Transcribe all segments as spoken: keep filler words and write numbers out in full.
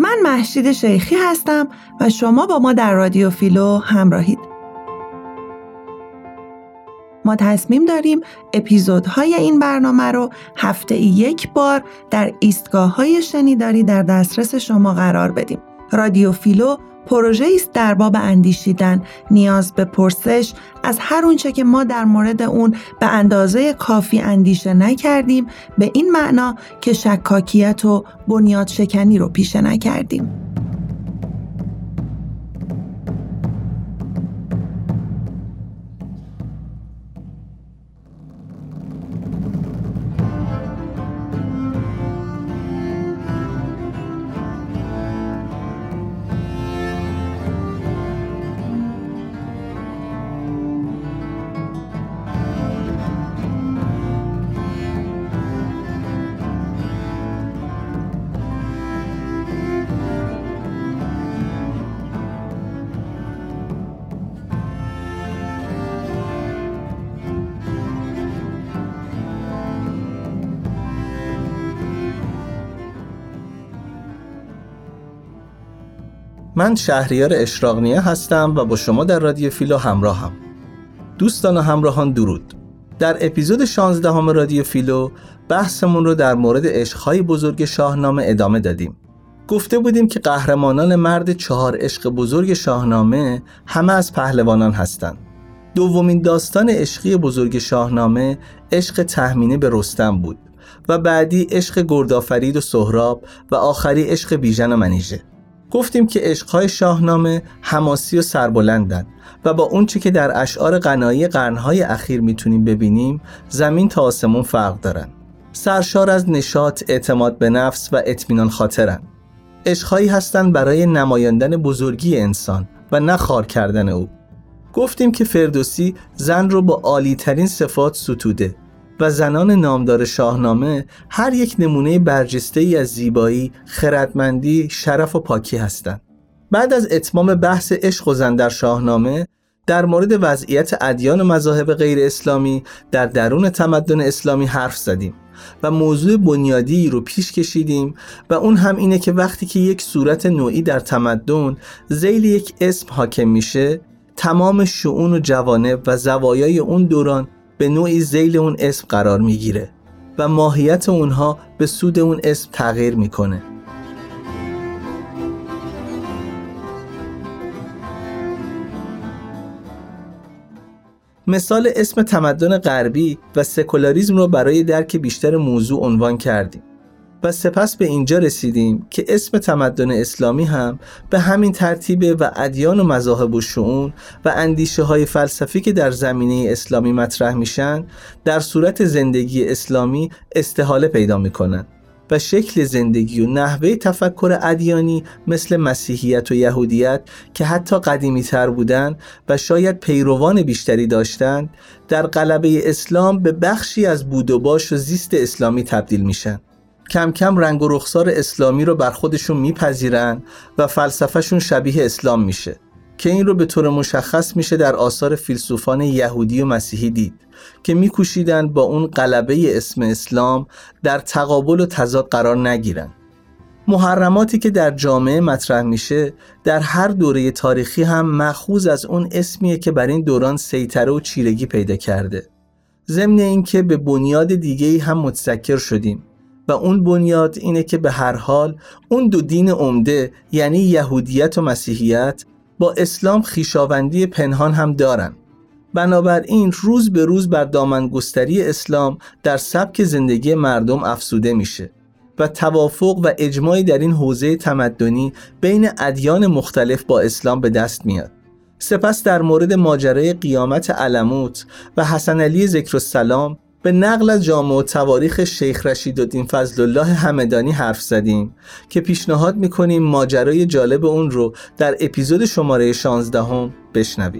من مهشید شیخی هستم و شما با ما در رادیو فیلو همراهید. ما تصمیم داریم اپیزودهای این برنامه رو هفته یک بار در ایستگاه‌های شنیداری در دسترس شما قرار بدیم. رادیو فیلو پروژه‌ای است در باب اندیشیدن، نیاز به پرسش از هر اونچه که ما در مورد اون به اندازه کافی اندیشه نکردیم، به این معنا که شکاکیت و بنیاد شکنی رو پیشه نکردیم. من شهریار اشراق‌نیا هستم و با شما در رادیو فیلو همراهم. دوستان و همراهان درود. در اپیزود شانزدهم رادیو فیلو بحثمون رو در مورد عشق‌های بزرگ شاهنامه ادامه دادیم. گفته بودیم که قهرمانان مرد چهار عشق بزرگ شاهنامه همه از پهلوانان هستند. دومین داستان عشقی بزرگ شاهنامه عشق تهمینه به رستم بود و بعدی عشق گردآفرید و سهراب و آخری عشق بیژن و منیژه. گفتیم که عشق‌های شاهنامه حماسی و سربلندن و با اون چی که در اشعار غنایی قرن‌های اخیر میتونیم ببینیم زمین تا آسمون فرق دارن. سرشار از نشاط، اعتماد به نفس و اطمینان خاطرن. عشق‌هایی هستن برای نمایاندن بزرگی انسان و نه خار کردن او. گفتیم که فردوسی زن رو با عالی‌ترین صفات ستوده و زنان نامدار شاهنامه هر یک نمونه برجسته‌ای از زیبایی، خردمندی، شرف و پاکی هستند. بعد از اتمام بحث عشق و زن در شاهنامه، در مورد وضعیت ادیان و مذاهب غیر اسلامی در درون تمدن اسلامی حرف زدیم و موضوع بنیادی رو پیش کشیدیم و اون هم اینه که وقتی که یک صورت نوعی در تمدن ذیل یک اسم حاکم میشه، تمام شؤون و جوانب و زوایای اون دوران به نوعی ذیل اون اسم قرار میگیره و ماهیت اونها به سود اون اسم تغییر میکنه. مثال اسم تمدن غربی و سکولاریسم رو برای درک بیشتر موضوع عنوان کردیم و سپس به اینجا رسیدیم که اسم تمدن اسلامی هم به همین ترتیبه و ادیان و مذاهب و شؤون و اندیشه های فلسفی که در زمینه اسلامی مطرح میشن در صورت زندگی اسلامی استحاله پیدا میکنن و شکل زندگی و نحوه تفکر ادیانی مثل مسیحیت و یهودیت که حتی قدیمی تر بودن و شاید پیروان بیشتری داشتند در غلبه اسلام به بخشی از بود و باش و زیست اسلامی تبدیل میشن. کم کم رنگ و رخسار اسلامی رو بر خودشون میپذیرن و فلسفهشون شبیه اسلام میشه که این رو به طور مشخص میشه در آثار فیلسوفان یهودی و مسیحی دید که میکوشیدن با اون غلبه اسم اسلام در تقابل و تضاد قرار نگیرن. محرماتی که در جامعه مطرح میشه در هر دوره تاریخی هم مأخوذ از اون اسمیه که بر این دوران سیطره و چیرگی پیدا کرده. ضمن اینکه به بنیاد دیگه‌ای هم متذکر شدیم و اون بنیاد اینه که به هر حال اون دو دین عمده یعنی یهودیت و مسیحیت با اسلام خویشاوندی پنهان هم دارن. بنابراین روز به روز بر دامنگستری اسلام در سبک زندگی مردم افزوده میشه و توافق و اجماعی در این حوزه تمدنی بین ادیان مختلف با اسلام به دست میاد. سپس در مورد ماجرای قیامت علموت و حسن علی ذکرالسلام به نقل از جامع التواریخ شیخ رشیدالدین فضلالله همدانی حرف زدیم که پیشنهاد میکنیم ماجرای جالب اون رو در اپیزود شماره شانزدهم بشنوید.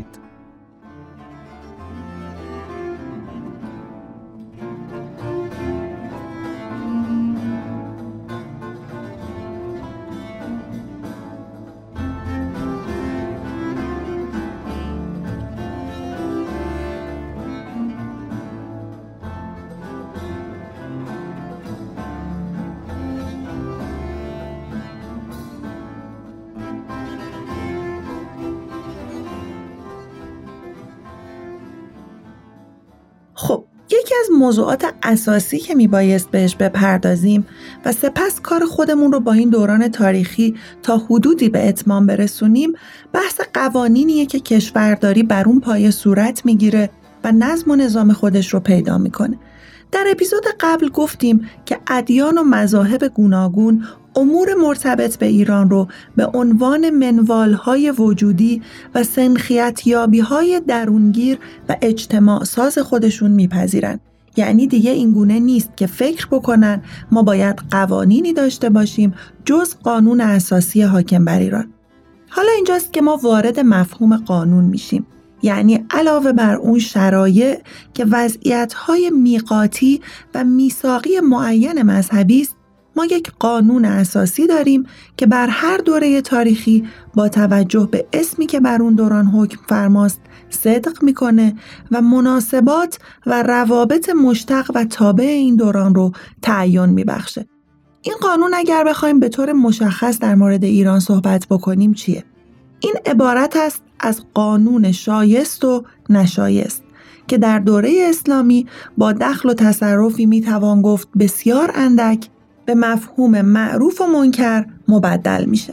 خب یکی از موضوعات اساسی که میبایست بهش بپردازیم و سپس کار خودمون رو با این دوران تاریخی تا حدودی به اتمام برسونیم بحث قوانینیه که کشورداری بر اون پایه صورت میگیره و نظم و نظام خودش رو پیدا میکنه. در اپیزود قبل گفتیم که ادیان و مذاهب گوناگون امور مرتبط به ایران رو به عنوان منوالهای وجودی و سنخیتیابی‌های درونگیر و اجتماع ساز خودشون میپذیرن. یعنی دیگه این گونه نیست که فکر بکنن ما باید قوانینی داشته باشیم جز قانون اساسی حاکم بر ایران. حالا اینجاست که ما وارد مفهوم قانون میشیم. یعنی علاوه بر اون شرایع که وضعیت‌های میقاتی و میثاقی معین مذهبی است، ما یک قانون اساسی داریم که بر هر دوره تاریخی با توجه به اسمی که بر اون دوران حکم فرماست صدق میکنه و مناسبات و روابط مشتق و تابع این دوران رو تعیین میبخشه. این قانون اگر بخوایم به طور مشخص در مورد ایران صحبت بکنیم چیه؟ این عبارت است از قانون شایست و نشایست که در دوره اسلامی با دخل و تصرفی میتوان گفت بسیار اندک به مفهوم معروف و منکر مبدل میشه.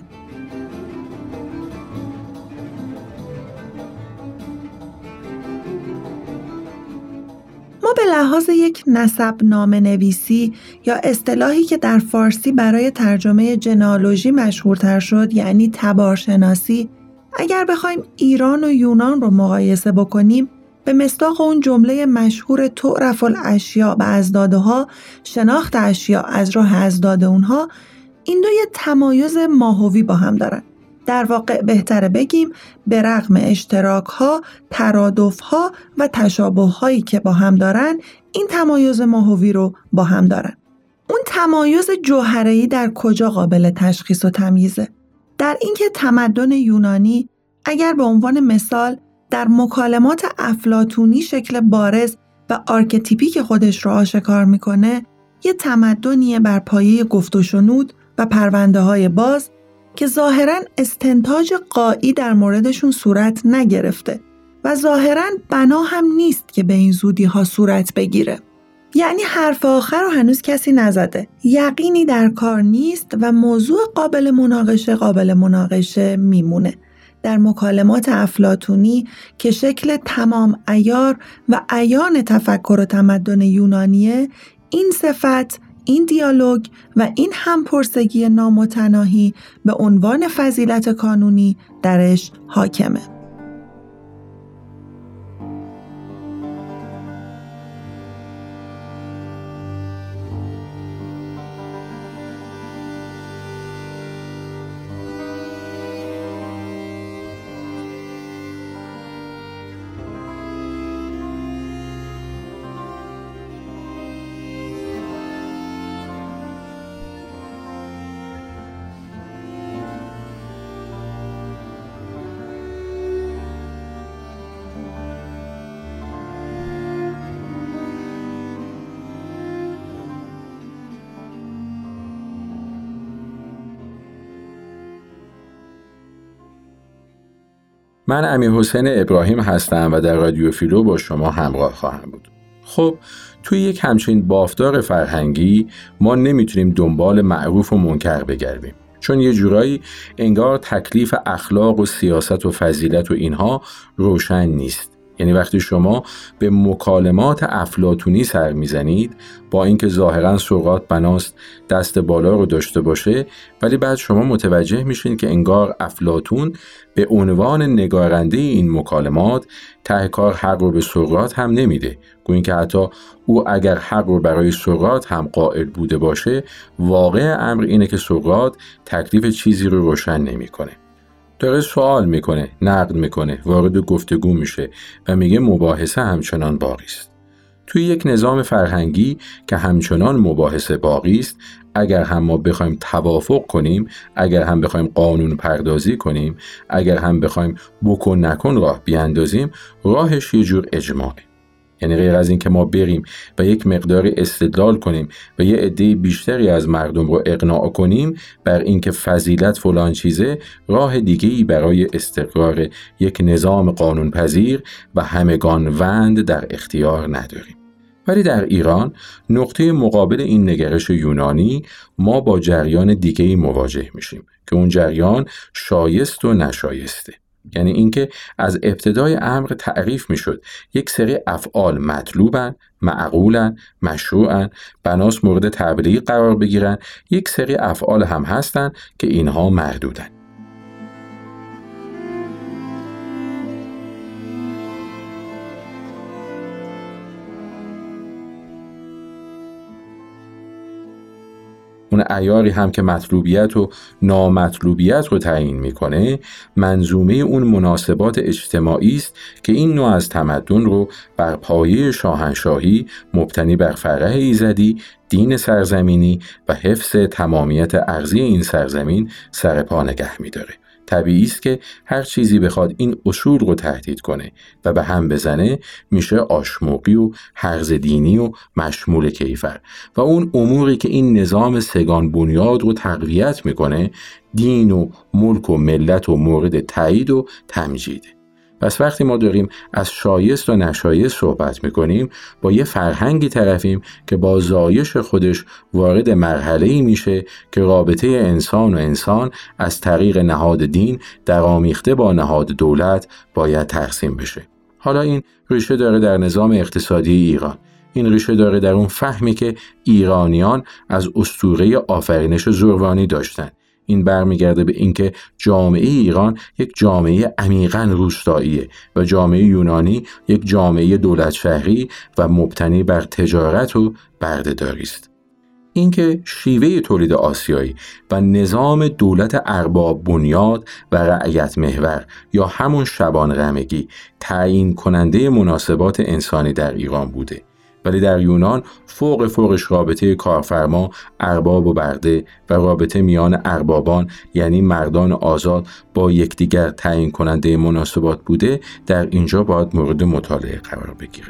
ما به لحاظ یک نسب نامه نویسی یا اصطلاحی که در فارسی برای ترجمه جنالوژی مشهورتر شد یعنی تبارشناسی، اگر بخوایم ایران و یونان رو مقایسه بکنیم به مصداق اون جمله مشهور تعرف الاشیاء به اضدادها، شناخت اشیاء از راه اضداد اونها، این دو یه تمایز ماهوی با هم دارن. در واقع بهتره بگیم به رغم اشتراک‌ها، ترادف‌ها و تشابه‌هایی که با هم دارن، این تمایز ماهوی رو با هم دارن. اون تمایز جوهره‌ای در کجا قابل تشخیص و تمییزه؟ در اینکه تمدن یونانی اگر به عنوان مثال در مکالمات افلاطونی شکل بارز و آرکتیپیک خودش رو آشکار میکنه، یه تمدنیه بر پایه گفت و شنود و پرونده های باز که ظاهراً استنتاج قائی در موردشون صورت نگرفته و ظاهراً بنا هم نیست که به این زودی ها صورت بگیره. یعنی حرف آخر رو هنوز کسی نزده، یقینی در کار نیست و موضوع قابل مناقشه قابل مناقشه میمونه. در مکالمات افلاطونی که شکل تمام عیار و عیان تفکر و تمدن یونانیه، این صفت، این دیالوگ و این همپرسگی نامتناهی به عنوان فضیلت کانونی درش حاکمه. من امیرحسین ابراهیم هستم و در رادیو فیلو با شما همراه خواهم بود. خب توی یک همچین بافتار فرهنگی ما نمیتونیم دنبال معروف و منکر بگردیم، چون یه جورایی انگار تکلیف اخلاق و سیاست و فضیلت و اینها روشن نیست. یعنی وقتی شما به مکالمات افلاطونی سر میزنید، با اینکه ظاهراً سقراط بناست دست بالا رو داشته باشه، ولی بعد شما متوجه میشین که انگار افلاطون به عنوان نگارنده این مکالمات ته کار حق رو به سقراط هم نمیده. گویا که حتی او اگر حق رو برای سقراط هم قائل بوده باشه، واقع امر اینه که سقراط تکلیف چیزی رو روشن نمیکنه. داره سوال میکنه، نقد میکنه، وارد گفتگو میشه و میگه مباحثه همچنان باقی است. توی یک نظام فرهنگی که همچنان مباحثه باقی است، اگر هم ما بخوایم توافق کنیم، اگر هم بخوایم قانون پردازی کنیم، اگر هم بخوایم بکن نکن راه بیاندازیم، راهش یه جور اجماعه. یعنی غیر از این که ما بریم و یک مقداری استدلال کنیم و یه عده بیشتری از مردم رو اقناع کنیم بر اینکه فضیلت فلان چیزه، راه دیگه‌ای برای استقرار یک نظام قانون پذیر و همگان وند در اختیار نداریم. ولی در ایران نقطه مقابل این نگرش یونانی ما با جریان دیگه‌ای مواجه میشیم که اون جریان شایست و نشایسته. یعنی اینکه از ابتدای امر تعریف میشد یک سری افعال مطلوبن، معقولن، مشروعن، بناس مورد تبلیغ قرار بگیرن، یک سری افعال هم هستن که اینها مردودن. اون عیاری هم که مطلوبیت و نامطلوبیت رو تعیین میکنه منظومه اون مناسبات اجتماعی است که این نوع از تمدن رو بر پایه شاهنشاهی مبتنی بر فرح ایزدی، دین سرزمینی و حفظ تمامیت ارضی این سرزمین سر پا نگه میداره. طبیعی است که هر چیزی بخواد این اصول رو تهدید کنه و به هم بزنه میشه آشموقی و هرز دینی و مشمول کیفر و اون اموری که این نظام سگان بنیاد رو تقویت میکنه دین و ملک و ملت و مورد تایید و تمجیده. پس وقتی ما داریم از شایست و نشایست صحبت میکنیم با یه فرهنگی طرفیم که با زایش خودش وارد مرحله‌ای میشه که رابطه انسان و انسان از طریق نهاد دین در آمیخته با نهاد دولت باید ترسیم بشه. حالا این ریشه داره در نظام اقتصادی ایران. این ریشه داره در اون فهمی که ایرانیان از اسطوره آفرینش زروانی داشتن. این برمیگرده به اینکه جامعه ایران یک جامعه عمیقاً روستاییه و جامعه یونانی یک جامعه دولت شهری و مبتنی بر تجارت و بردهداری است. اینکه شیوه تولید آسیایی و نظام دولت ارباب بنیاد و رعیت محور یا همون شبان غمگی تعیین کننده مناسبات انسانی در ایران بوده، ولی در یونان فوق فوقش رابطه کارفرما، ارباب و برده و رابطه میان اربابان یعنی مردان آزاد با یکدیگر تعیین کننده مناسبات بوده، در اینجا باید مورد مطالعه قرار بگیره.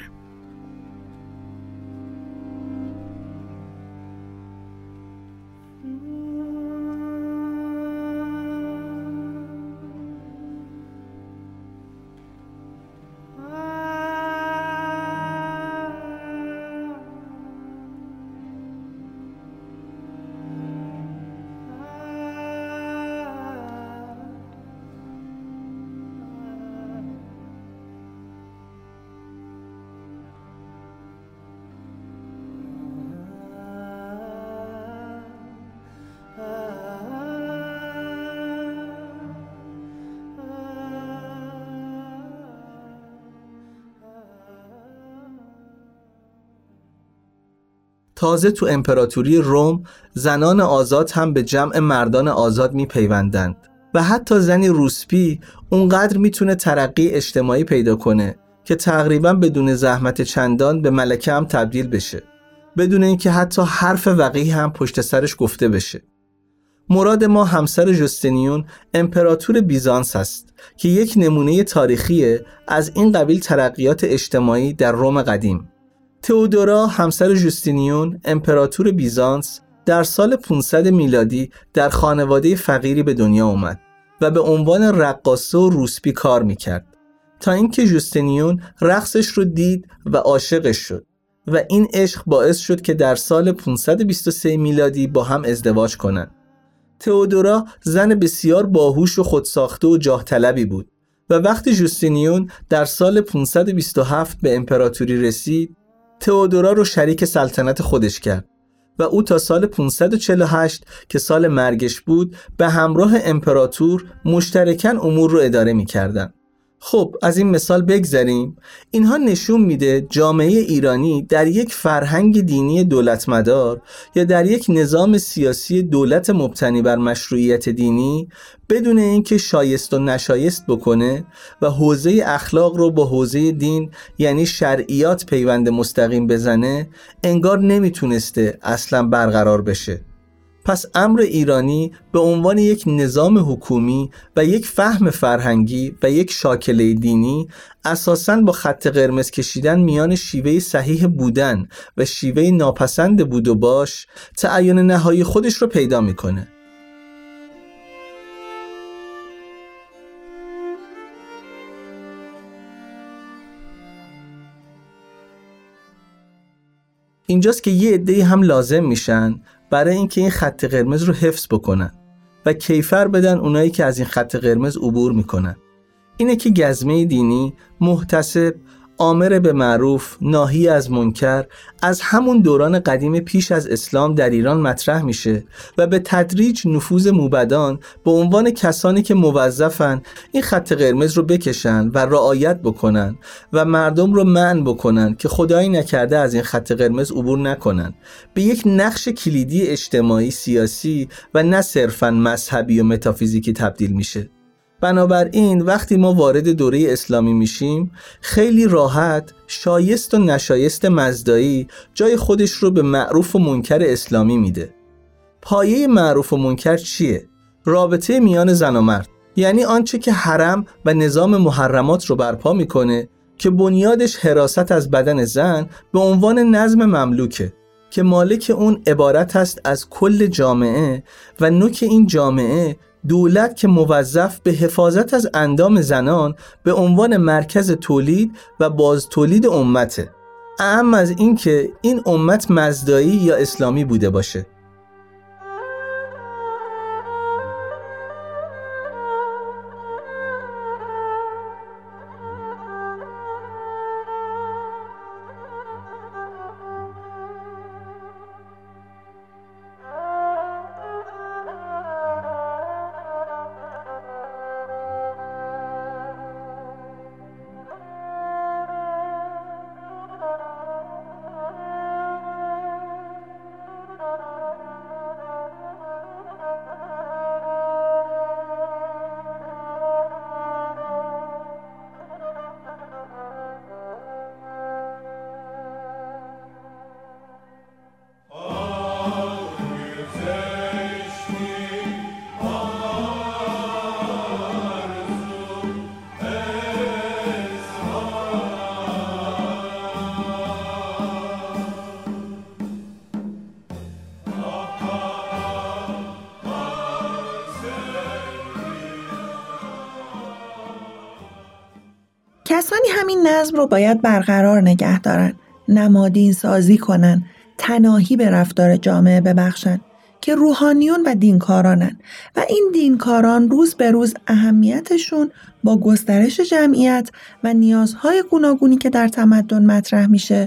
تازه تو امپراتوری روم زنان آزاد هم به جمع مردان آزاد می پیوندند و حتی زنی روسپی اونقدر میتونه ترقی اجتماعی پیدا کنه که تقریبا بدون زحمت چندان به ملکه هم تبدیل بشه، بدون اینکه حتی حرف وقیح هم پشت سرش گفته بشه. مراد ما همسر جوستینیون امپراتور بیزانس است که یک نمونه تاریخیه از این قبیل ترقیات اجتماعی در روم قدیم. تئودورا همسر جوستینیون امپراتور بیزانس در سال پانصد میلادی در خانواده فقیری به دنیا اومد و به عنوان رقاصه و روسپی کار میکرد تا اینکه جوستینیون رقصش رو دید و عاشقش شد و این عشق باعث شد که در سال پانصد و بیست و سه میلادی با هم ازدواج کنند. تئودورا زن بسیار باهوش و خودساخته و جاه طلبی بود و وقتی جوستینیون در سال پانصد و بیست و هفت به امپراتوری رسید، تئودورا رو شریک سلطنت خودش کرد و او تا سال پانصد و چهل و هشت که سال مرگش بود به همراه امپراتور مشترکاً امور رو اداره می‌کردن. خب از این مثال بگذریم. اینها نشون میده جامعه ایرانی در یک فرهنگ دینی دولتمدار یا در یک نظام سیاسی دولت مبتنی بر مشروعیت دینی بدون اینکه شایست و نشایست بکنه و حوزه اخلاق رو با حوزه دین یعنی شرعیات پیوند مستقیم بزنه، انگار نمیتونسته اصلا برقرار بشه. پس امر ایرانی به عنوان یک نظام حکومی و یک فهم فرهنگی و یک شاکله دینی اساساً با خط قرمز کشیدن میان شیوه صحیح بودن و شیوه ناپسند بود و باش تعین نهایی خودش رو پیدا میکنه. اینجاست که یه عده‌ای هم لازم میشن برای اینکه این خط قرمز رو حفظ بکنن و کیفر بدن اونایی که از این خط قرمز عبور میکنن. اینه که گزمه دینی، محتسب، آمر به معروف، ناهی از منکر از همون دوران قدیم پیش از اسلام در ایران مطرح میشه و به تدریج نفوذ موبدان به عنوان کسانی که موظفن این خط قرمز رو بکشن و رعایت بکنن و مردم رو منع بکنن که خدایی نکرده از این خط قرمز عبور نکنن، به یک نقش کلیدی اجتماعی، سیاسی و نه صرفاً مذهبی و متافیزیکی تبدیل میشه. بنابراین وقتی ما وارد دوره اسلامی میشیم خیلی راحت شایست و نشایست مزدایی جای خودش رو به معروف و منکر اسلامی میده. پایه معروف و منکر چیه؟ رابطه میان زن و مرد، یعنی آنچه که حرم و نظام محرمات رو برپا میکنه که بنیادش حراست از بدن زن به عنوان نظم مملوکه که مالک اون عبارت است از کل جامعه و نوک این جامعه دولت که موظف به حفاظت از اندام زنان به عنوان مرکز تولید و باز تولید امته، اهم از این که این امت مزدایی یا اسلامی بوده باشه. کسانی همین نظم رو باید برقرار نگه دارن، نمادین سازی کنن، تناهی به رفتار جامعه ببخشن که روحانیون و دینکارانن و این دینکاران روز به روز اهمیتشون با گسترش جمعیت و نیازهای گوناگونی که در تمدن مطرح میشه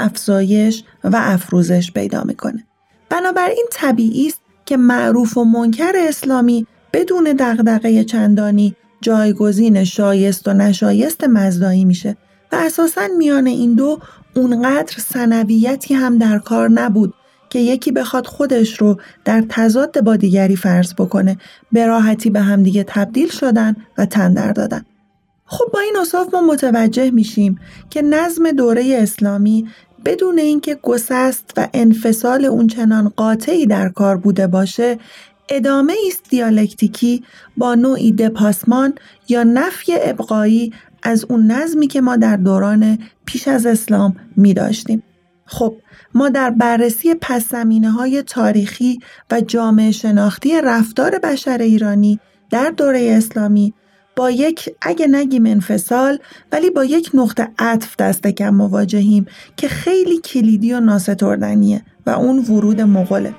افزایش و افروزش پیدا میکنه. بنابراین طبیعی است که معروف و منکر اسلامی بدون دغدغه چندانی جایگزین شایست و نشایست مزدایی میشه و اساساً میان این دو اونقدر ثانویتی هم در کار نبود که یکی بخواد خودش رو در تضاد با دیگری فرض بکنه. به راحتی به هم دیگه تبدیل شدن و تن در دادن. خب با این اوصاف ما متوجه میشیم که نظم دوره اسلامی بدون اینکه گسست و انفصال اون چنان قاطعی در کار بوده باشه، ادامه است دیالکتیکی با نوعی دپاسمان یا نفی ابقایی از اون نظمی که ما در دوران پیش از اسلام می داشتیم. خب ما در بررسی پس‌زمینه‌های تاریخی و جامعه شناختی رفتار بشر ایرانی در دوره اسلامی با یک اگه نگیم انفصال ولی با یک نقطه عطف دست کم مواجهیم که خیلی کلیدی و ناستردنیه و اون ورود مغوله.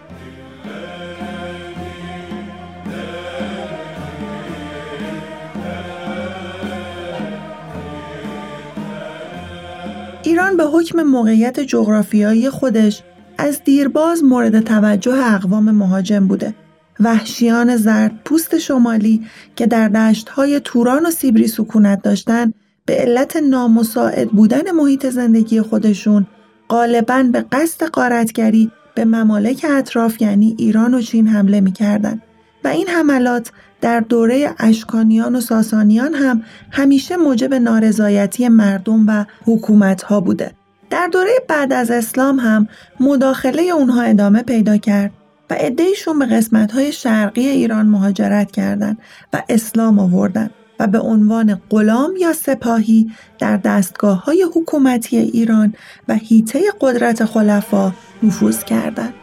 ایران به حکم موقعیت جغرافیایی خودش از دیرباز مورد توجه اقوام مهاجم بوده. وحشیان زردپوست شمالی که در دشت‌های توران و سیبری سکونت داشتن به علت نامساعد بودن محیط زندگی خودشون غالباً به قصد غارتگری به ممالک اطراف یعنی ایران و چین حمله می‌کردند و این حملات در دوره اشکانیان و ساسانیان هم همیشه موجب نارضایتی مردم و حکومت‌ها بوده. در دوره بعد از اسلام هم مداخله اونها ادامه پیدا کرد و عده‌ایشون به قسمت‌های شرقی ایران مهاجرت کردند و اسلام آوردند و به عنوان غلام یا سپاهی در دستگاه‌های حکومتی ایران و حیطه قدرت خلفا نفوذ کردند.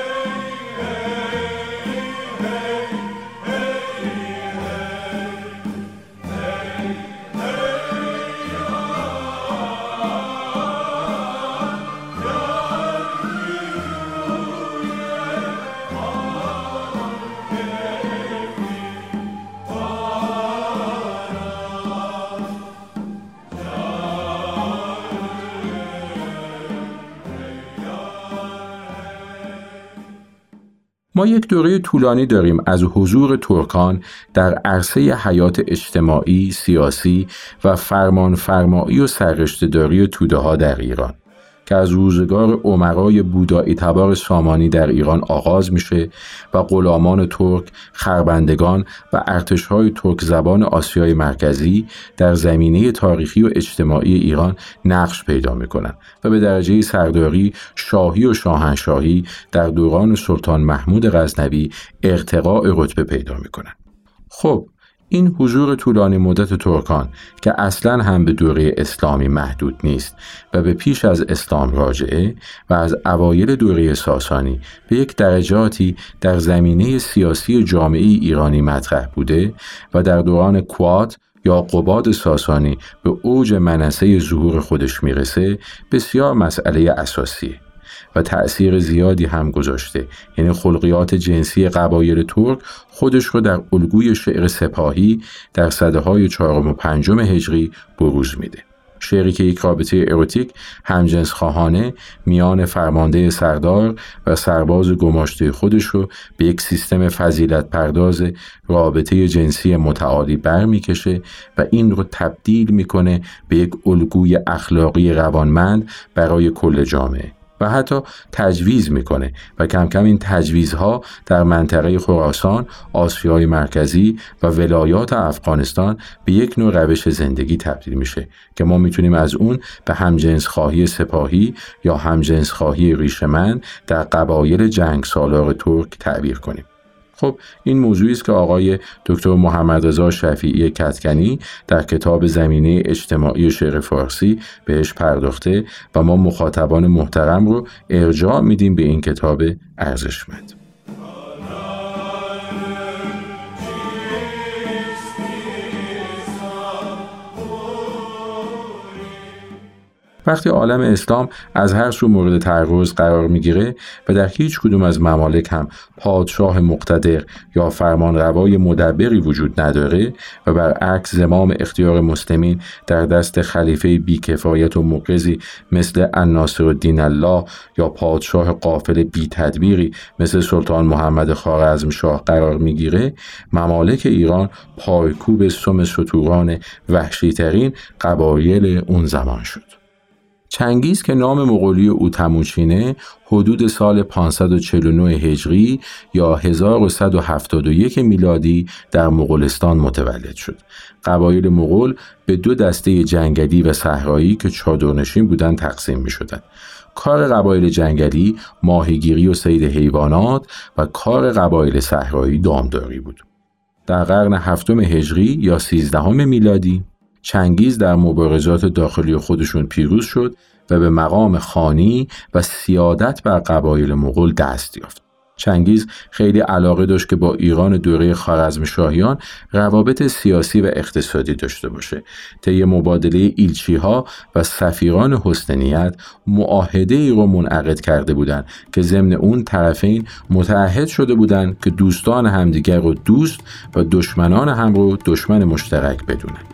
ما یک دوره طولانی داریم از حضور ترکان در عرصه حیات اجتماعی، سیاسی و فرمانفرمایی و سررشته‌داری توده‌ها در ایران که از روزگار امرای بودایی تبار سامانی در ایران آغاز میشه و غلامان ترک، خربندگان و ارتش‌های ترک زبان آسیای مرکزی در زمینه تاریخی و اجتماعی ایران نقش پیدا میکنن و به درجه سرداری، شاهی و شاهنشاهی در دوران سلطان محمود غزنوی ارتقاء رتبه پیدا میکنن. خب این حضور طولانی مدت ترکان که اصلاً هم به دوره اسلامی محدود نیست و به پیش از اسلام راجعه و از اوایل دوره ساسانی به یک درجاتی در زمینه سیاسی جامعه ایرانی مطرح بوده و در دوران کوات یا قباد ساسانی به اوج منصه ظهور خودش میرسه، بسیار مسئله اساسیه و تأثیر زیادی هم گذاشته. یعنی خلقیات جنسی قبایل ترک خودش رو در الگوی شعر سپاهی در سده‌های چهارم و پنجم هجری بروز میده. شعری که یک رابطه اروتیک همجنس خواهانه میان فرمانده سردار و سرباز گماشته خودش رو به یک سیستم فضیلت پرداز رابطه جنسی متعالی برمیکشه و این رو تبدیل میکنه به یک الگوی اخلاقی روانمند برای کل جامعه و حتی تجویز میکنه و کم کم این تجویزها در منطقه خراسان، آسیای مرکزی و ولایات افغانستان به یک نوع روش زندگی تبدیل میشه که ما میتونیم از اون به همجنس خواهی سپاهی یا همجنس خواهی ریشه‌مند در قبایل جنگ سالار ترک تعبیر کنیم. خب این موضوعی است که آقای دکتر محمد رضا شفیعی کدکنی در کتاب زمینه اجتماعی شعر فارسی بهش پرداخته و ما مخاطبان محترم رو ارجاع میدیم به این کتاب ارزشمند. وقتی عالم اسلام از هر سو مورد تعرض قرار میگیره و در هیچ کدوم از ممالک هم پادشاه مقتدر یا فرمانروای مدبری وجود نداره و برعکس زمام اختیار مسلمین در دست خلیفه بیکفایت و مقرضی مثل الناصرالدین الله یا پادشاه غافل بی تدبیری مثل سلطان محمد خوارزمشاه قرار میگیره، ممالک ایران پایکوب سم ستوران وحشی ترین قبایل اون زمان شد. چنگیز که نام مغولی او تموچینه حدود سال پانصد و چهل و نه هجری یا هزار و صد و هفتاد و یک میلادی در مغولستان متولد شد. قبایل مغول به دو دسته جنگلی و صحرایی که چادرنشین بودند تقسیم می شدند. کار قبایل جنگلی ماهیگیری و صید حیوانات و کار قبایل صحرایی دامداری بود. در قرن هفتم هجری یا سیزدهم میلادی چنگیز در مبارزات داخلی خودشون پیروز شد و به مقام خانی و سیادت بر قبایل مغول دست یافت. چنگیز خیلی علاقه داشت که با ایران دوره خوارزمشاهیان روابط سیاسی و اقتصادی داشته باشه. طی مبادله ایلچی‌ها و سفیران حسن نیت معاهده ای رو منعقد کرده بودند که ضمن اون طرفین متعهد شده بودند که دوستان همدیگر رو دوست و دشمنان هم رو دشمن مشترک بدونند.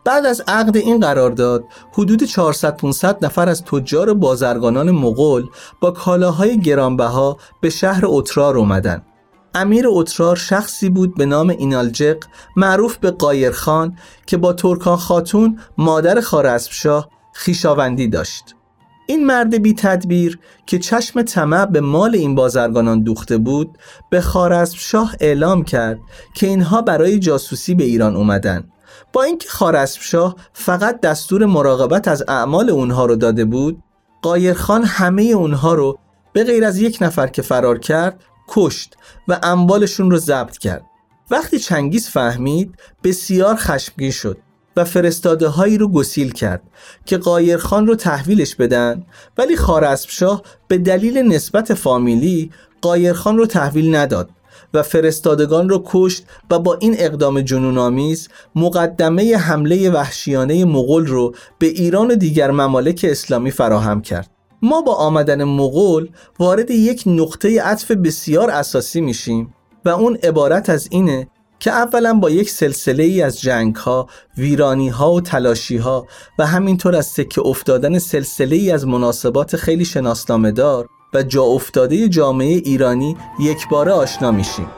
بعد از عقد این قرارداد حدود چهارصد پانصد نفر از تجار بازرگانان مغول با کالاهای گرانبها به شهر اترار اومدن. امیر اترار شخصی بود به نام اینالجق، معروف به قایرخان، که با ترکان خاتون مادر خوارزمشاه خویشاوندی داشت. این مرد بی تدبیر که چشم طمع به مال این بازرگانان دوخته بود، به خوارزمشاه اعلام کرد که اینها برای جاسوسی به ایران اومدن. با اینکه خوارزمشاه فقط دستور مراقبت از اعمال اونها رو داده بود، قایرخان همه اونها رو به غیر از یک نفر که فرار کرد کشت و اموالشون رو ضبط کرد. وقتی چنگیز فهمید بسیار خشمگین شد و فرستاده هایی رو گسیل کرد که قایرخان رو تحویلش بدن، ولی خوارزمشاه به دلیل نسبت فامیلی قایرخان رو تحویل نداد و فرستادگان رو کشت و با این اقدام جنون‌آمیز مقدمه حمله وحشیانه مغول رو به ایران و دیگر ممالک اسلامی فراهم کرد. ما با آمدن مغول وارد یک نقطه عطف بسیار اساسی میشیم و اون عبارت از اینه که اولا با یک سلسله ای از جنگ ها، ویرانی ها و تلاشی ها و همینطور از سکه افتادن سلسله ای از مناسبات خیلی شناسنامه دار و جا افتاده جامعه ایرانی یک باره آشنا میشیم.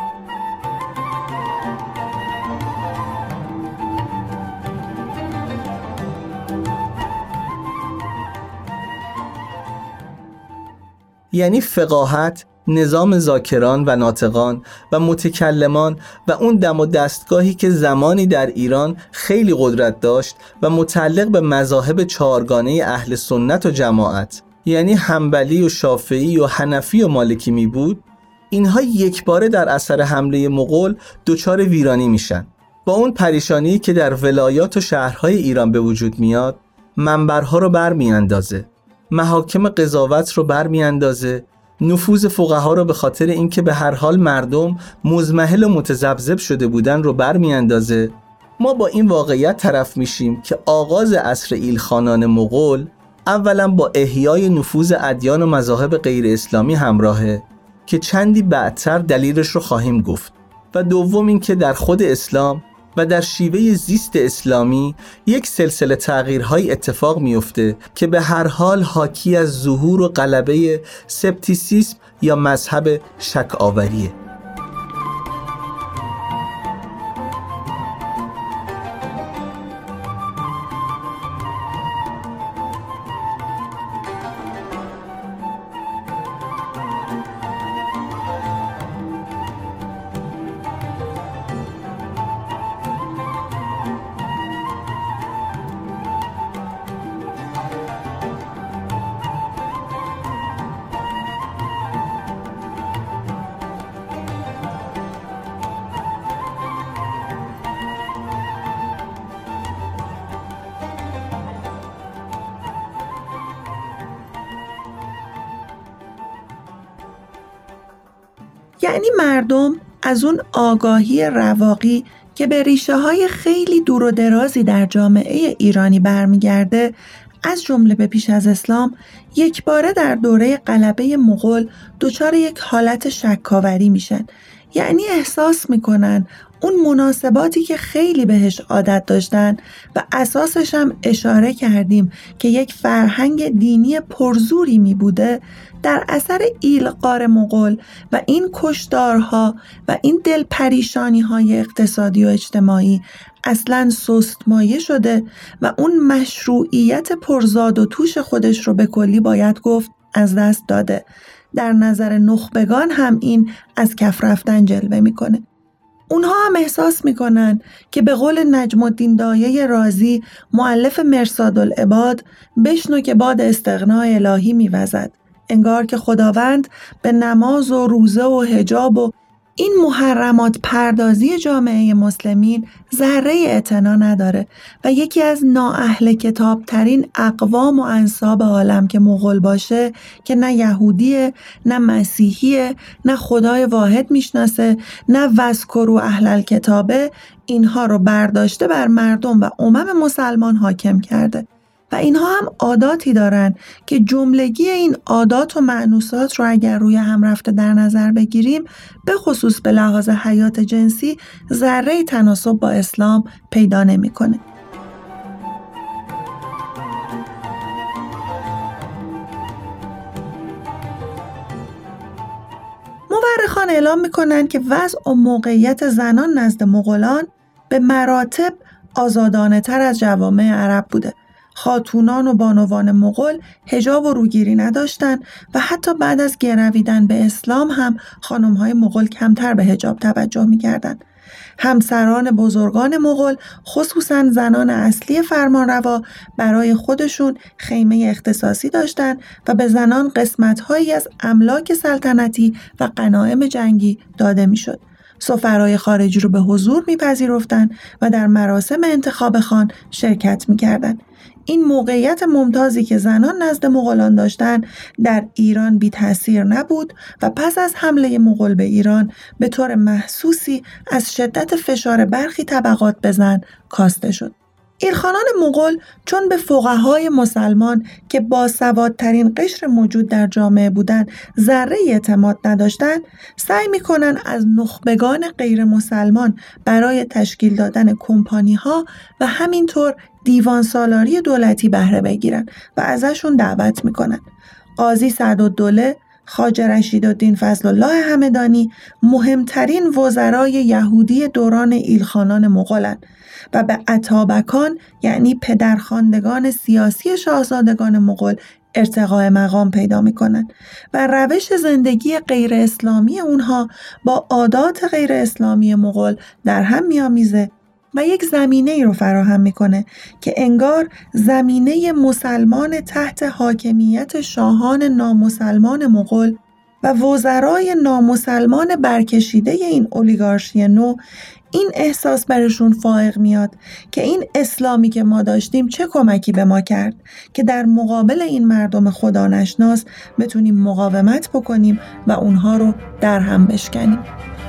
یعنی فقاهت، نظام ذاکران و ناطقان و متکلمان و اون دم و دستگاهی که زمانی در ایران خیلی قدرت داشت و متعلق به مذاهب چهارگانه اهل سنت و جماعت، یعنی حنبلی و شافعی و حنفی و مالکی می بود، اینها یک باره در اثر حمله مغول دچار ویرانی میشن. با اون پریشانی که در ولایات و شهرهای ایران به وجود میاد، منبرها رو برمی اندازه، محاکم قضاوت رو برمی اندازه، نفوذ فقها رو به خاطر اینکه به هر حال مردم مزمحل و متذبذب شده بودن رو برمی اندازه. ما با این واقعیت طرف میشیم که آغاز عصر ایلخانان مغول اولا با احیای نفوذ ادیان و مذاهب غیر اسلامی همراهه که چندی بعدتر دلیلش رو خواهیم گفت، و دوم این که در خود اسلام و در شیوه زیست اسلامی یک سلسله تغییرهای اتفاق میفته که به هر حال حاکی از ظهور و غلبه سپتیسیسم یا مذهب شک آوریه. یعنی مردم از اون آگاهی رواقی که به ریشه های خیلی دور و درازی در جامعه ایرانی برمیگرده، از جمله به پیش از اسلام، یک باره در دوره غلبه مغول دچار یک حالت شکاوری میشن. یعنی احساس میکنن اون مناسباتی که خیلی بهش عادت داشتن و اساسش هم اشاره کردیم که یک فرهنگ دینی پرزوری می بوده، در اثر ایلغار مغول و این کشتارها و این دلپریشانی های اقتصادی و اجتماعی اصلاً سست مایه شده و اون مشروعیت پرزاد و توش خودش رو به کلی باید گفت از دست داده. در نظر نخبگان هم این از کف رفتن جلوه میکنه. اونها هم احساس میکنن که به قول نجم الدین دایه رازی، مؤلف مرصاد العباد، بشنو که باد استغنا الهی میوزد. انگار که خداوند به نماز و روزه و حجاب و این محرمات پردازی جامعه مسلمین ذره اعتنا نداره و یکی از نااهل کتاب ترین اقوام و انساب عالم که مغول باشه، که نه یهودیه، نه مسیحیه، نه خدای واحد میشناسه، نه وذکروا اهل الکتابه، اینها رو برداشته بر مردم و امم مسلمان حاکم کرده. و اینها هم عاداتی دارن که جملگی این عادات و مأنوسات رو اگر روی هم رفته در نظر بگیریم، به خصوص به لحاظ حیات جنسی ذره تناسب با اسلام پیدا نمی‌کنه. خان اعلام میکنن که وضع و موقعیت زنان نزد مغولان به مراتب آزادانه تر از جوامع عرب بوده. خاتونان و بانوان مغول حجاب و روگیری نداشتند و حتی بعد از گرویدن به اسلام هم خانم‌های مغول کمتر به حجاب توجه می‌کردند. همسران بزرگان مغول خصوصاً زنان اصلی فرمانروا برای خودشون خیمه اختصاصی داشتند و به زنان قسمت‌هایی از املاک سلطنتی و غنایم جنگی داده می‌شد. سفرای خارجی رو به حضور می‌پذیرفتند و در مراسم انتخاب خان شرکت می‌کردند. این موقعیت ممتازی که زنان نزد مغولان داشتند در ایران بی تأثیر نبود و پس از حمله مغول به ایران به طور محسوسی از شدت فشار برخی طبقات به زن کاسته شد. ایلخانان مغول چون به فقهای مسلمان که باسوادترین قشر موجود در جامعه بودند ذره اعتماد نداشتند، سعی می‌کنند از نخبگان غیر مسلمان برای تشکیل دادن کمپانی‌ها و همینطور دیوان سالاری دولتی بهره بگیرن و ازشون دعوت میکنن. قاضی سعدالدوله، خواجه رشیدالدین فضل الله همدانی مهمترین وزرای یهودی دوران ایلخانان مغولند و به اتابکان یعنی پدرخواندگان سیاسی شاهزادگان مغول ارتقاء مقام پیدا میکنن و روش زندگی غیر اسلامی اونها با عادات غیر اسلامی مغول در هم میامیزه و یک زمینه ای رو فراهم میکنه که انگار زمینه مسلمان تحت حاکمیت شاهان نامسلمان مغول و وزرای نامسلمان برکشیده این اولیگارشی نو این احساس برشون فائق میاد که این اسلامی که ما داشتیم چه کمکی به ما کرد که در مقابل این مردم خدا نشناس بتونیم مقاومت بکنیم و اونها رو در هم بشکنیم.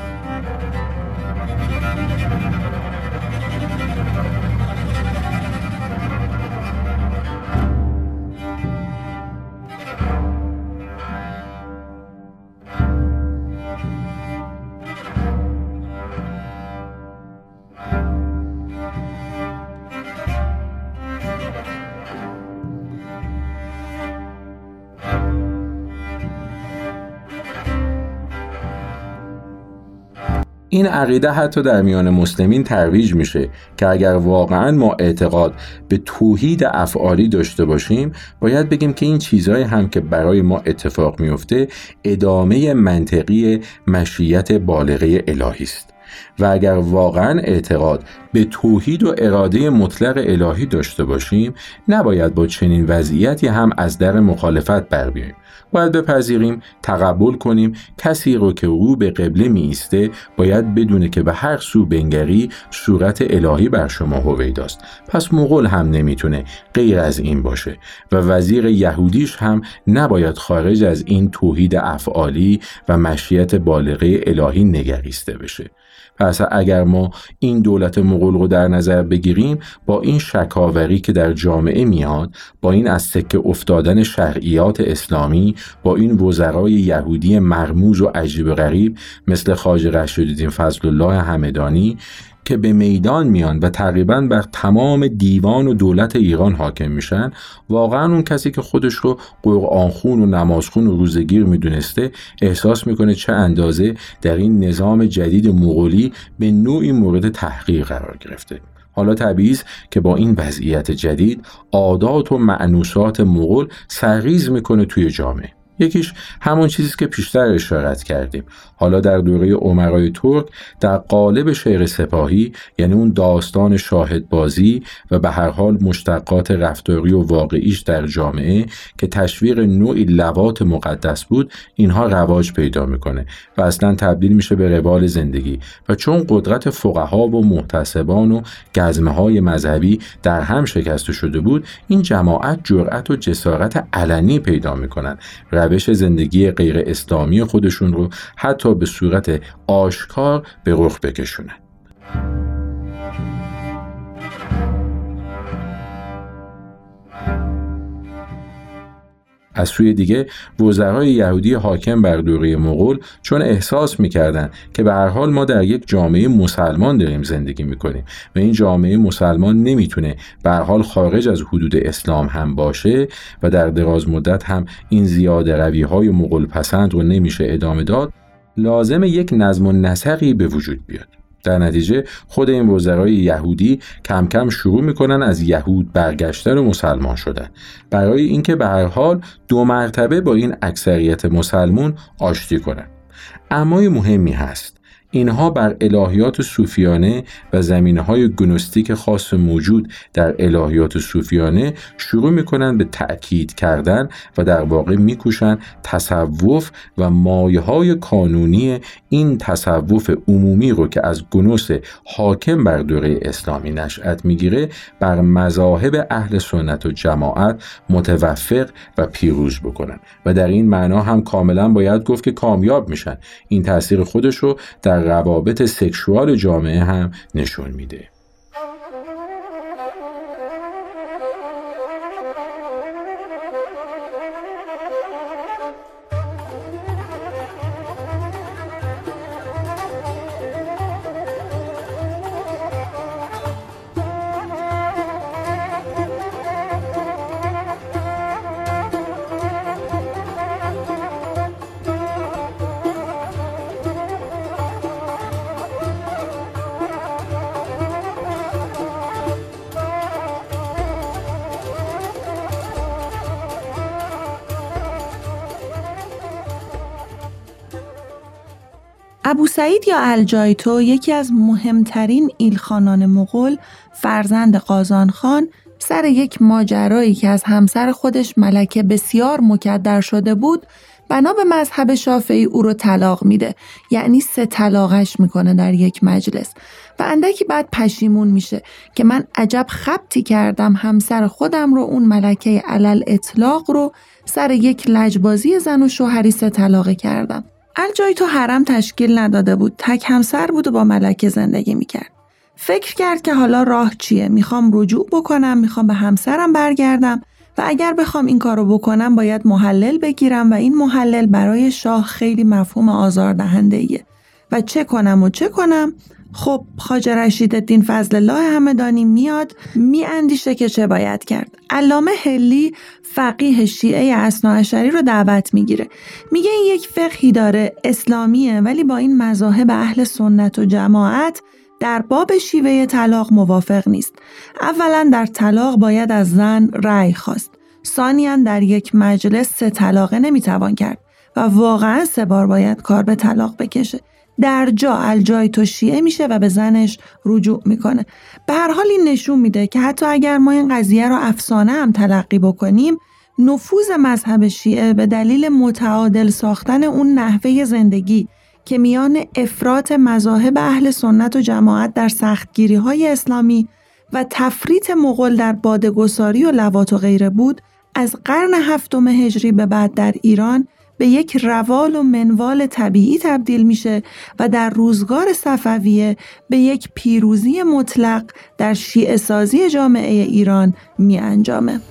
این عقیده حتی در میان مسلمین ترویج میشه که اگر واقعا ما اعتقاد به توحید افعالی داشته باشیم باید بگیم که این چیزهای هم که برای ما اتفاق میفته ادامه منطقی مشیت بالغه الهی است. و اگر واقعا اعتقاد به توحید و اراده مطلق الهی داشته باشیم نباید با چنین وضعیتی هم از در مخالفت بر بیاییم. باید بپذیریم، تقبل کنیم کسی رو که رو به قبله می ایسته باید بدونه که به هر سو بنگری صورت الهی بر شما هویداست. پس مغول هم نمیتونه غیر از این باشه و وزیر یهودیش هم نباید خارج از این توحید افعالی و مشیت بالغه الهی نگریسته بشه. پس اگر ما این دولت مغول رو در نظر بگیریم با این شکاوری که در جامعه میاد، با این از سکه افتادن شرعیات اسلامی، با این وزرای یهودی مرموز و عجیب و غریب مثل خواجه رشیدالدین فضل الله همدانی که به میدان میان و تقریباً بر تمام دیوان و دولت ایران حاکم میشن، واقعاً اون کسی که خودش رو قرآنخون و نمازخون و روزگیر میدونسته احساس میکنه چه اندازه در این نظام جدید مغولی به نوعی مورد تحقیر قرار گرفته. حالا طبیعی است که با این وضعیت جدید عادات و مأنوسات مغول سرریز میکنه توی جامعه. یکیش همون چیزی که پیشتر اشارت کردیم. حالا در دوره امرای ترک در قالب شعر سپاهی، یعنی اون داستان شاهدبازی و به هر حال مشتقات رفتاری و واقعیش در جامعه که تشویق نوعی لواط مقدس بود، اینها رواج پیدا میکنه و اصلا تبدیل میشه به روال زندگی. و چون قدرت فقها و محتسبان و گزمه های مذهبی در هم شکسته شده بود، این جماعت جرأت و جسارت علنی پیدا میکنن روش زندگی غیر اسلامی خودشون رو حتی به صورت آشکار به رخ بکشونن. از سوی دیگه وزرای یهودی حاکم بر دوره مغول چون احساس می‌کردند که به هر حال ما در یک جامعه مسلمان داریم زندگی می‌کنیم و این جامعه مسلمان نمیتونه به هر حال خارج از حدود اسلام هم باشه و در دراز مدت هم این زیاده روی‌های مغول پسند رو نمیشه ادامه داد، لازم یک نظم و نسقی به وجود بیاد. در نتیجه خود این وزرای یهودی کم کم شروع میکنن از یهود برگشتن و مسلمان شدن، برای اینکه به هر حال دو مرتبه با این اکثریت مسلمون آشتی کنن. اما مهمی هست، اینها بر الهیات صوفیانه و زمینه‌های گنوستیک خاص موجود در الهیات صوفیانه شروع می‌کنند به تأکید کردن و در واقع می‌کوشند تصوف و مایه‌های کانونی این تصوف عمومی رو که از گنوس حاکم بر دوره اسلامی نشأت می‌گیره بر مذاهب اهل سنت و جماعت متوفق و پیروز بکنن و در این معنا هم کاملا باید گفت که کامیاب میشن. این تأثیر خودش رو در روابط سکشوال جامعه هم نشون میده. ابو سعید یا الجایتو یکی از مهمترین ایلخانان مغول، فرزند قازان خان، سر یک ماجرایی که از همسر خودش ملکه بسیار مکدر شده بود، بنا به مذهب شافعی او رو طلاق میده، یعنی سه طلاقش میکنه در یک مجلس و اندکی بعد پشیمون میشه که من عجب خبطی کردم، همسر خودم رو، اون ملکه علل اطلاق رو، سر یک لجبازی زن و شوهری سه طلاقه کردم. الجایتو حرم تشکیل نداده بود، تک همسر بود و با ملکه زندگی میکرد. فکر کرد که حالا راه چیه؟ میخوام رجوع بکنم، میخوام به همسرم برگردم و اگر بخوام این کارو بکنم باید محلل بگیرم و این محلل برای شاه خیلی مفهوم آزاردهنده‌ایه و چه کنم و چه کنم؟ خب خواجه رشیدالدین فضل الله همدانی میاد میاندیشه که چه باید کرد. علامه حلی فقیه شیعه اثناعشری رو دعوت میگیره، میگه این یک فقهی داره، اسلامیه، ولی با این مذاهب اهل سنت و جماعت در باب شیوه طلاق موافق نیست. اولا در طلاق باید از زن رأی خواست، ثانیاً در یک مجلس سه طلاقه نمیتوان کرد و واقعا سه بار باید کار به طلاق بکشه. در جا الجایتو شیعه میشه و به زنش رجوع میکنه. به هر حال این نشون میده که حتی اگر ما این قضیه رو افسانه هم تلقی بکنیم، نفوذ مذهب شیعه به دلیل متعادل ساختن اون نحوه زندگی که میان افراط مذاهب اهل سنت و جماعت در سختگیری‌های اسلامی و تفریط مغول در باده‌گساری و لواط و غیره بود، از قرن هفتم هجری به بعد در ایران به یک روال و منوال طبیعی تبدیل میشه و در روزگار صفویه به یک پیروزی مطلق در شیعه سازی جامعه ایران می انجامه.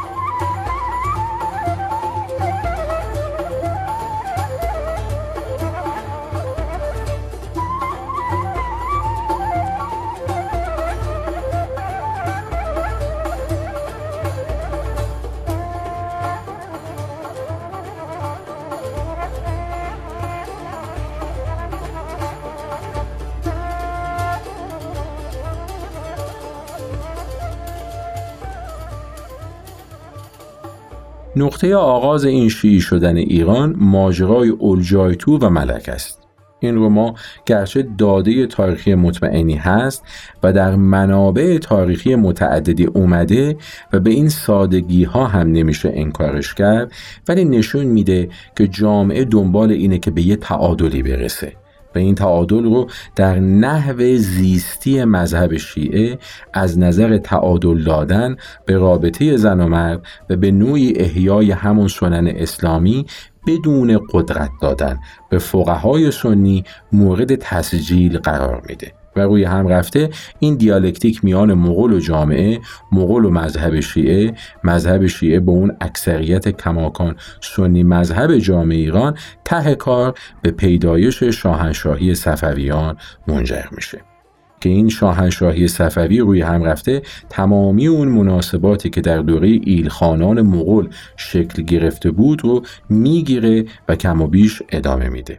نقطه آغاز این شیعی شدن ایران ماجرای الجایتو و ملک است. این رو ما گرچه داده تاریخی مطمئنی هست و در منابع تاریخی متعددی اومده و به این سادگی ها هم نمیشه انکارش کرد، ولی نشون میده که جامعه دنبال اینه که به یه تعادلی برسه و این تعادل رو در نحو زیستی مذهب شیعه از نظر تعادل دادن به رابطه زن و مرد و به نوعی احیای همون سنن اسلامی بدون قدرت دادن به فقهای سنی مورد تسجیل قرار میده و روی هم رفته این دیالکتیک میان مغول و جامعه، مغول و مذهب شیعه، مذهب شیعه با اون اکثریت کماکان سنی مذهب جامعه ایران، ته کار به پیدایش شاهنشاهی صفویان منجر میشه که این شاهنشاهی صفوی روی هم رفته تمامی اون مناسباتی که در دوره ایلخانان مغول شکل گرفته بود رو میگیره و کم و بیش ادامه میده.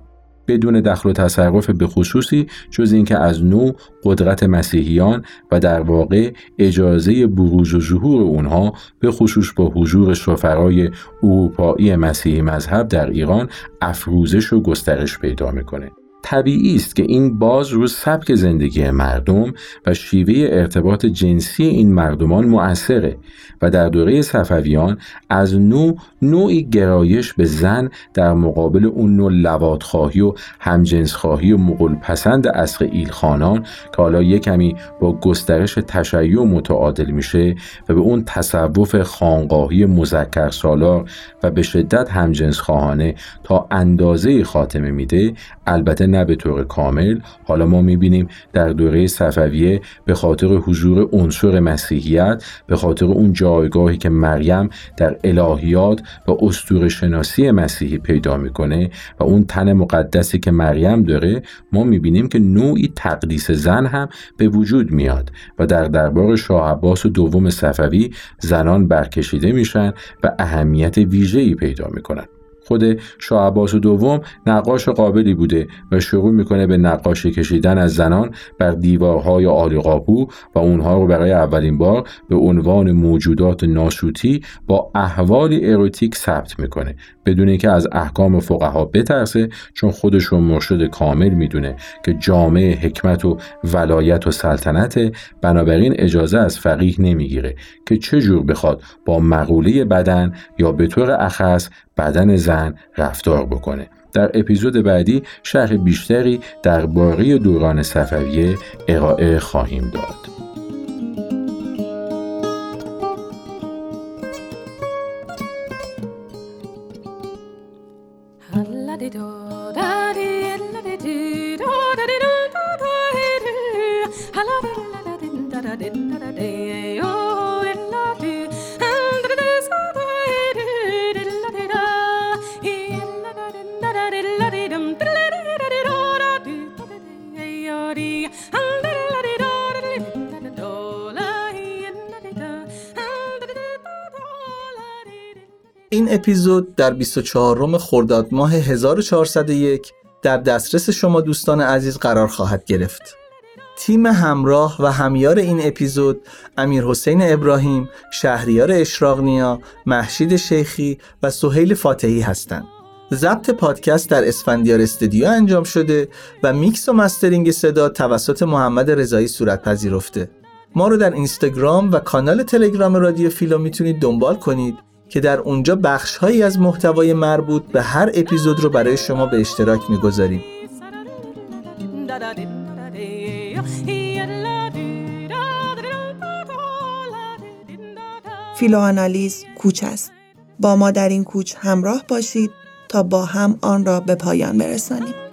بدون دخل و تصرف به خصوصی جز اینکه از نو قدرت مسیحیان و در واقع اجازه بروز و ظهور اونها به خصوص با حضور سفرای اروپایی مسیحی مذهب در ایران افروزش و گسترش پیدا میکنه. طبیعی است که این باز رو سبک زندگی مردم و شیوه ارتباط جنسی این مردمان مؤثره و در دوره صفویان از نوع نوعی گرایش به زن در مقابل اون نوع لواط‌خواهی و همجنس‌خواهی و مغول پسند عصر ایلخانان که حالا یک کمی با گسترش تشیع متعادل میشه و به اون تصوف خانقاهی مذکر سالار و به شدت همجنس‌خواهانه تا اندازه خاتمه میده. البته نه به طور کامل. حالا ما میبینیم در دوره صفویه به خاطر حضور عنصر مسیحیت، به خاطر اون جایگاهی که مریم در الهیات و اسطوره شناسی مسیحی پیدا میکنه و اون تن مقدسی که مریم داره، ما میبینیم که نوعی تقدیس زن هم به وجود میاد و در دربار شاه عباس دوم صفوی زنان برکشیده میشن و اهمیت ویژه‌ای پیدا میکنن. خود شاه عباس دوم نقاش قابلی بوده و شروع میکنه به نقاشی کشیدن از زنان بر دیوارهای عالی‌قاپو و اونها رو برای اولین بار به عنوان موجودات ناسوتی با احوالی اروتیک ثبت میکنه، بدون اینکه از احکام فقها بترسه، چون خودش رو مرشد کامل میدونه که جامع حکمت و ولایت و سلطنته، بنابراین اجازه از فقیه نمیگیره که چه جور بخواد با مقوله بدن یا به طور اخص بدن زن رفتار بکنه. در اپیزود بعدی شرح بیشتری درباره دوران صفویه ارائه خواهیم داد. این اپیزود در بیست و چهارم خرداد ماه هزار و چهارصد و یک در دسترس شما دوستان عزیز قرار خواهد گرفت. تیم همراه و همیار این اپیزود امیرحسین ابراهیم، شهریار اشراق‌نیا، مهشید شیخی و سهیل فاتحی هستند. ضبط پادکست در اسفندیار استودیو انجام شده و میکس و مسترینگ صدا توسط محمد رضایی صورت پذیرفته. ما رو در اینستاگرام و کانال تلگرام رادیو فیلو میتونید دنبال کنید که در اونجا بخش‌هایی از محتوای مربوط به هر اپیزود رو برای شما به اشتراک می‌گذاریم. فیلوآنالیز کوچ است. با ما در این کوچ همراه باشید تا با هم آن را به پایان برسانیم.